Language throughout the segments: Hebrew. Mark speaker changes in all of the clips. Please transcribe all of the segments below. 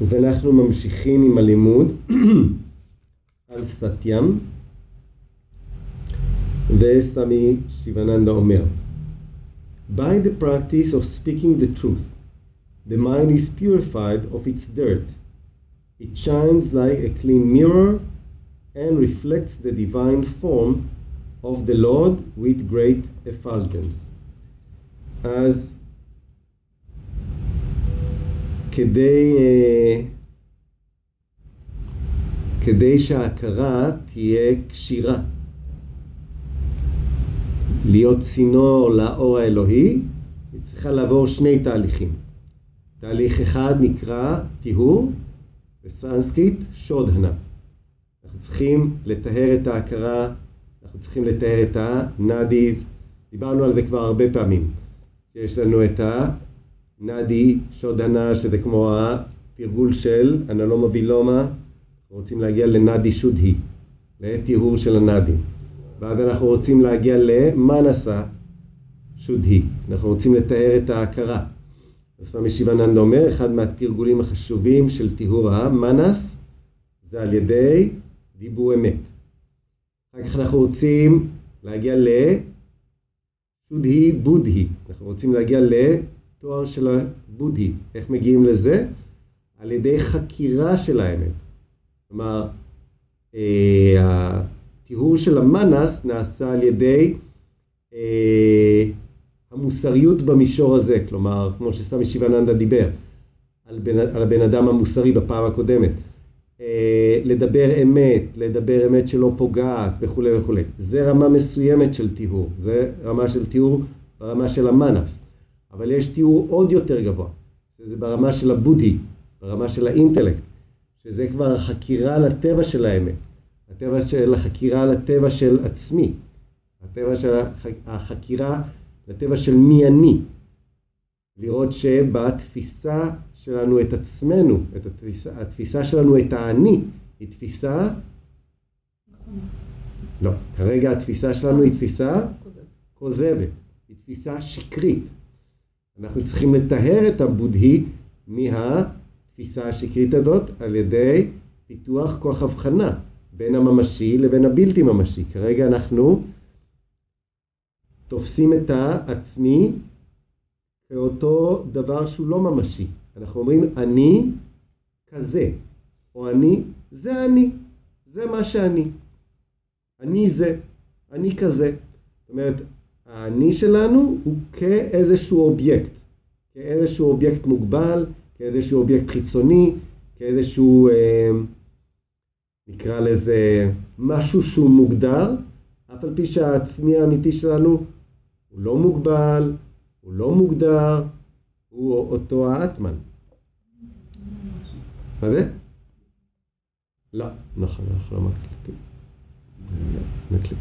Speaker 1: אז אנחנו ממשיכים עם הלימוד על סטיים, וסמי שיבננדה אומר, By the practice of speaking the truth, the mind is purified of its dirt. It shines like a clean mirror and reflects the divine form of the Lord with great effulgence. אז כדי שההכרה תהיה קשירה, להיות צינור לאור האלוהי, היא צריכה לעבור שני תהליכים. תהליך אחד נקרא טיהור, בסנסקריט שודהנה. אנחנו צריכים לטהר את ההכרה, אנחנו צריכים לטהר את הנאדיז. דיברנו על זה כבר הרבה פעמים. יש לנו את הנאדי שודהנה, שזה כמו התרגול של אנלומה וילומה. אנחנו רוצים להגיע לנאדי שודהי, לטיהור של הנאדים. ואז אנחנו רוצים להגיע למנסה שודהי. אנחנו רוצים לטהר את ההכרה. אז סמי שיבננדה אומר, אחד מהתרגולים החשובים של טיהור המנס, זה על ידי דיבור אמת. אחר כך אנחנו רוצים להגיע לשודהי בודהי. אנחנו רוצים להגיע לתואר של הבודהי. איך מגיעים לזה? על ידי חקירה של האמת. כלומר, הטיהור של המנס נעשה על ידי המוסריות במישור הזה. כלומר, כמו שסמי שיבננדה דיבר, על הבן אדם המוסרי בפעם הקודמת. לדבר אמת שלא פוגעת וכו' וכו'. זה רמה מסוימת של טיהור. זה רמה של טיהור ברמה של המנס. אבל יש טיהור עוד יותר גבוה. זה ברמה של הבודהי, ברמה של האינטלקט. שזה כבר החקירה לטבע של האמת. הטבע של החקירה לטבע של עצמי. הטבע של החקירה לטבע של מי אני. לראות שבתפיסה שלנו את עצמנו, התפיסה שלנו את האני, היא תפיסה... לא, כרגע התפיסה שלנו היא תפיסה כוזבת. היא תפיסה שקרית. אנחנו צריכים לטהר את הבודהי מהתפיסה השקרית הזאת על ידי פיתוח כוח הבחנה בין הממשי לבין הבלתי ממשי. כרגע אנחנו תופסים את העצמי כאותו דבר שהוא לא ממשי. אנחנו אומרים אני כזה, או זה אני, זה מה שאני. אני זה, אני כזה. זאת אומרת, האני שלנו הוא כאיזשהו אובייקט מוגבל, כאיזשהו אובייקט חיצוני, כאיזשהו, נקרא לזה, משהו שהוא מוגדר, אף על פי שהעצמי האמיתי שלנו הוא לא מוגבל, הוא לא מוגדר, הוא אותו האטמן. מה זה? לא, נכון, אנחנו לא מקליטים. נקליט.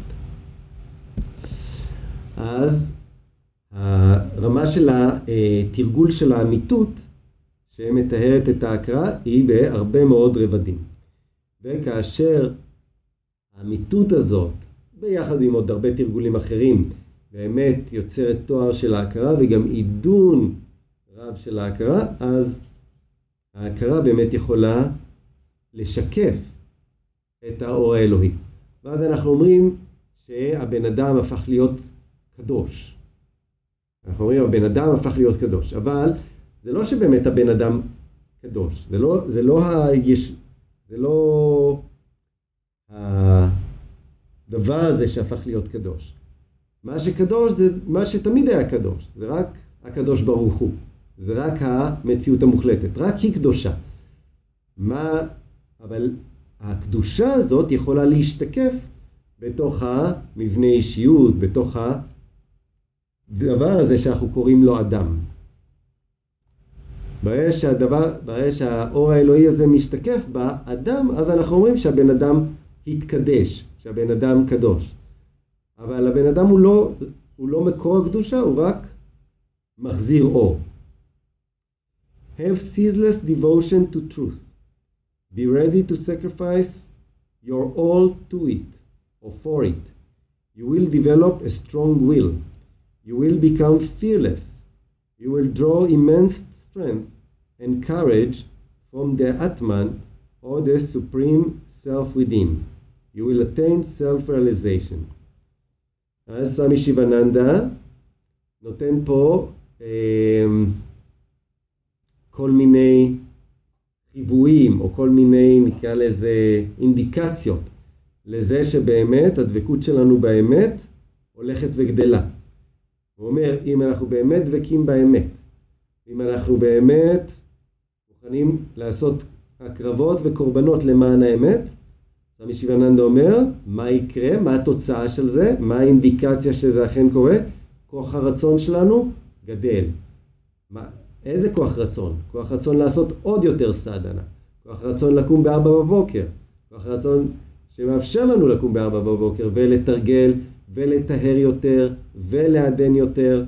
Speaker 1: אז הרמה של התרגול של האמיתות, שמתארת את ההכרה, היא בהרבה מאוד רבדים. וכאשר האמיתות הזאת, ביחד עם עוד הרבה תרגולים אחרים, באמת יוצרת תואר של ההכרה וגם עידון רב של ההכרה, אז ההכרה באמת יכולה לשקף את האור האלוהי. ואז אנחנו אומרים שהבן אדם הפך להיות קדוש. אנחנו אומרים הבן אדם הפך להיות קדוש, אבל זה לא שבאמת הבן אדם קדוש. זה לא הדבר הזה שהפך להיות קדוש. מה שקדוש זה מה שתמיד היה קדוש. זה רק הקדוש ברוך הוא. זה רק המציאות המוחלטת. רק היא קדושה. אבל הקדושה הזאת יכולה להשתקף בתוך המבנה אישיות, בתוך הדבר הזה שאנחנו קוראים לו אדם. ברגע שהאור האלוהי הזה משתקף באדם, אז אנחנו אומרים שהבן אדם התקדש, שהבן אדם קדוש. אבל הבן אדם הוא לא מקור הקדושה, הוא רק מחזיר אור. Have ceaseless devotion to truth. Be ready to sacrifice your all to it or for it. You will develop a strong will. You will become fearless. You will draw immense strength and courage from the Atman or the supreme self within. You will attain self-realization. אז סמי שיבננדה נותן פה כל מיני חיוויים או כל מיני, נקרא לזה, אינדיקציות לזה שבאמת הדבקות שלנו באמת הולכת וגדלה. הוא אומר, אם אנחנו באמת דבקים באמת, אם אנחנו באמת מוכנים לעשות הקרבות וקורבנות למען האמת, סמי שיבננדה אומר, מה יקרה, מה התוצאה של זה, מה האינדיקציה שזה אכן קורה? כוח הרצון שלנו גדל. איזה כוח רצון? כוח רצון לעשות עוד יותר סדנה. כוח רצון לקום ב4 בבוקר. כוח רצון שמאפשר לנו לקום ב4 בבוקר ולתרגל ולטהר יותר ולעדן יותר.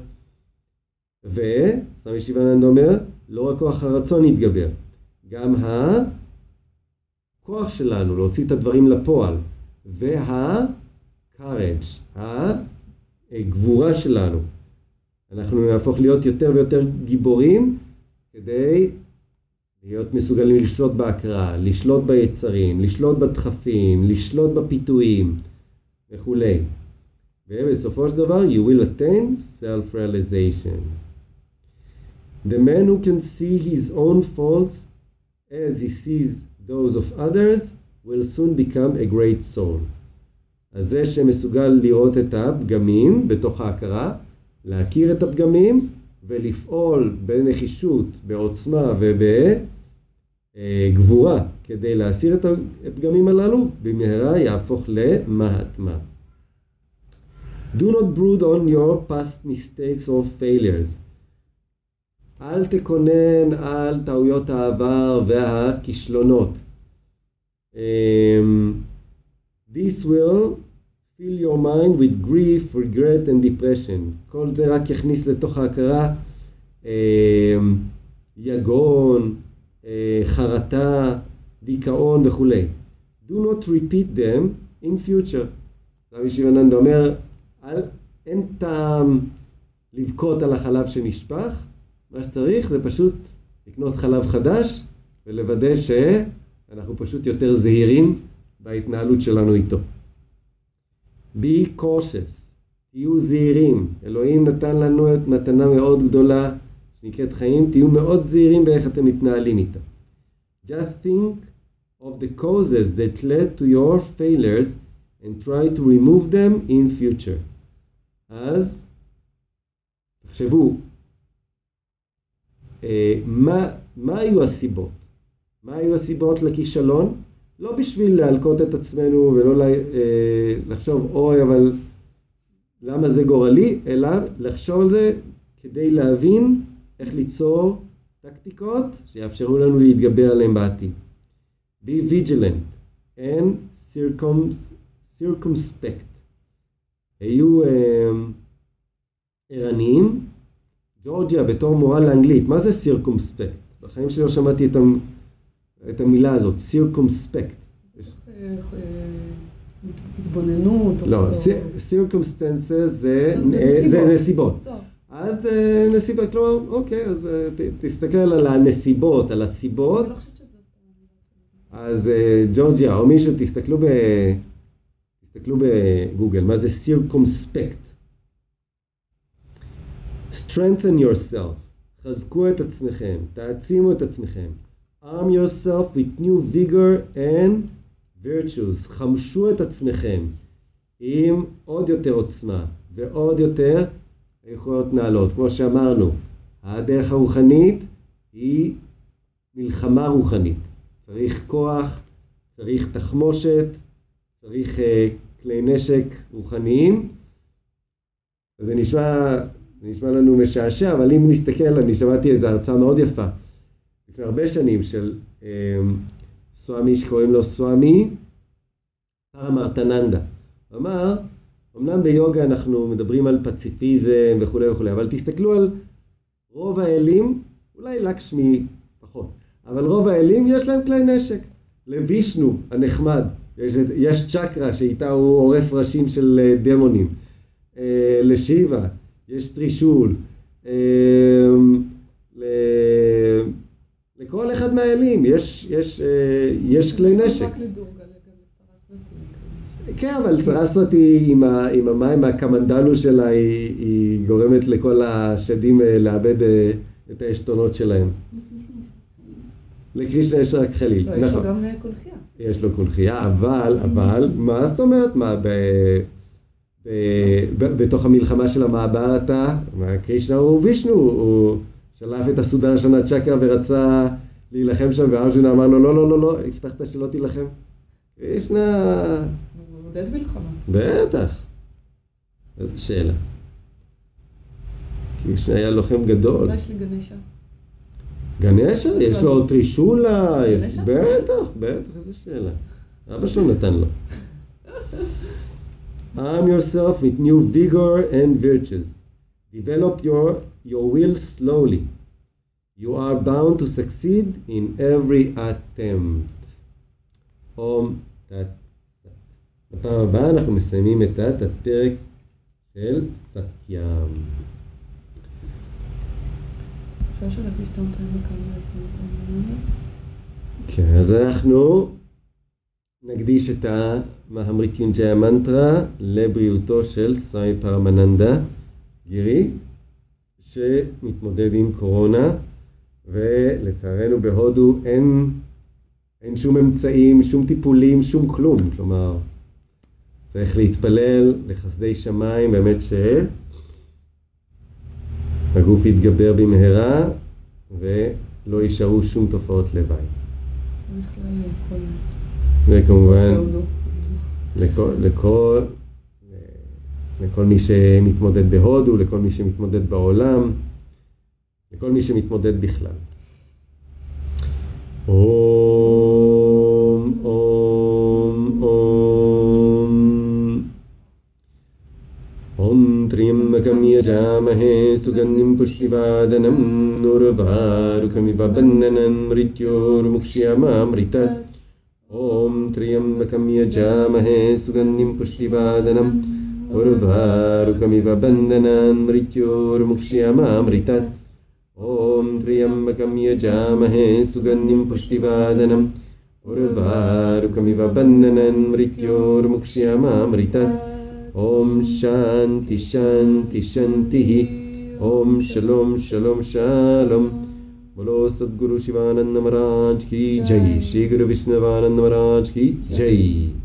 Speaker 1: וסמי שיבננדה אומר, לא רק כוח הרצון יתגבר, גם הכוח שלנו להוציא את הדברים לפועל, courage, הגבורה שלנו. אנחנו נהפוך להיות יותר ויותר גיבורים כדי להיות מסוגלים לשלוט בהקראה, לשלוט ביצרים, לשלוט בדחפים, לשלוט בפיתויים וכו'. ובסופו של דבר, you will attain self-realization. The man who can see his own faults as he sees those of others will soon become a great soul. אז זה שמסוגל לראות את הפגמים בתוך ההכרה, להכיר את הפגמים ולפעול בנחישות, בעוצמה ובגבורה כדי להסיר את הפגמים הללו, במהרה יהפוך למהטמה. Do not brood on your past mistakes or failures. אל תקונן על טעויות העבר והכישלונות. This will fill your mind with grief, regret and depression. כל זה רק יכניס לתוך ההכרה יגון, חרטה, דיכאון וכו'. Do not repeat them in future. סמי שיבננדה אומר, אין טעם לבכות על החלב שנשפך, מה שצריך זה פשוט לקנות חלב חדש ולוודא שאנחנו פשוט יותר זהירים בהתנהלות שלנו איתו. Be cautious, תהיו זהירים. אלוהים נתן לנו את מתנה מאוד גדולה שנקראת חיים, תהיו מאוד זהירים באיך אתם מתנהלים איתה. Just think of the causes that led to your failures and try to remove them in future. אז תחשבו, מה היו הסיבות? מה היו הסיבות לכישלון? לא בשביל להלקות את עצמנו ולא לחשוב, אוי, אבל למה זה גורלי? אלא לחשוב על זה כדי להבין איך ליצור טקטיקות שיאפשרו לנו להתגבר עליהם בעתיד. Be vigilant and circumspect. היו ערניים. ג'ורג'יה בתור מורה לאנגלית, מה זה circumspect? בחיים שלי לא שמעתי את המילה הזאת, circumspect.
Speaker 2: התבוננות.
Speaker 1: לא, circumstances זה נסיבות. אז נסיבות, כלומר, אוקיי, אז תסתכל על הנסיבות, על הסיבות. אז ג'ורג'יה או מישהו, תסתכלו בגוגל, מה זה circumspect? Strengthen yourself. חזקו את עצמכם, תעצימו את עצמכם. Arm yourself with new vigor and virtues. חמשו את עצמכם עם עוד יותר עוצמה ועוד יותר יכולות נעלות. כמו שאמרנו, הדרך הרוחנית היא מלחמה רוחנית. צריך כוח, צריך תחמושת, צריך כלי נשק רוחניים. זה נשמע לנו משעשע, אבל אם נסתכל, אני שמעתי איזו הרצאה מאוד יפה, לפני הרבה שנים, של סואמי שקוראים לו סואמי פרמרטננדה. הוא אמר, אמנם ביוגה אנחנו מדברים על פציפיזם וכו' וכו', אבל תסתכלו על רוב האלים, אולי לקשמי פחות, אבל רוב האלים יש להם כלי נשק. לוישנו הנחמד, יש צ'קרה שאיתה הוא עורף ראשים של דמונים. לשיבה יש טרישול, לכל כל אחד מהאלים, יש כלי נשק. כן, אבל סרסוותי עם המים מהקמנדלו שלה, היא גורמת לכל השדים לאבד את העשתונות שלהם. לקרישנה יש רק חליל.
Speaker 2: לא, יש לו גם קולחייה.
Speaker 1: יש לו קולחייה, אבל, מה זאת אומרת? מה, בתוך המלחמה של המעברתה, קרישנה הוא וישנו, הוא שלף את הסודרשנה צ'קרה ורצה להילחם שם, וארג'ונה אמר לו, לא, הבטחת שלא תילחם. קרישנה...
Speaker 2: הוא מודד מלחמה.
Speaker 1: בטח. איזו שאלה. קרישנה היה לוחם גדול.
Speaker 2: מה יש לי גנשה?
Speaker 1: גנשה? יש לו טרישולה. בטח, איזו שאלה. אבא שלו נתן לו. Arm yourself with new vigor and virtues. Develop your will slowly. You are bound to succeed in every attempt. אום תת. בפעם הבאה אנחנו מסיימים את הפרק של סטיאם.
Speaker 2: אפשר שלהגיש את המטרים וכמה עשרים?
Speaker 1: כן, אז אנחנו נקדיש את המהמריטיונג'יה מנטרה לבריאותו של סמי פרמננדה גירי, שמתמודד עם קורונה, ולצערנו בהודו אין שום אמצעים, שום טיפולים, שום כלום. כלומר, צריך להתפלל לחסדי שמיים, באמת שהגוף יתגבר במהרה ולא יישארו שום תופעות לוואי. וכמובן לכל מי שמתמודד בהודו, לכל מי שמתמודד בעולם, לכל מי שמתמודד בכלל. אום, אום, אום. אום טרימבקם יג'אמהה סוגנדים פושטיבאדנם נורvarukamiv bandhanam mrityormukshyamamritat. Om Triambakam yajamahe sugandhim pushtivadhanam urvarukamiv bandhanam mrityormukshyamamritat. Om Triambakam yajamahe sugandhim pushtivadhanam urvarukamiv bandhanam mrityormukshyamamritat. Om Shanti Shanti Shantihi. Om Shalom Shalom Shalom. बोलो सद्गुरु शिवानंद महाराज की जय, श्री गुरु विष्णुवानंद महाराज की जय।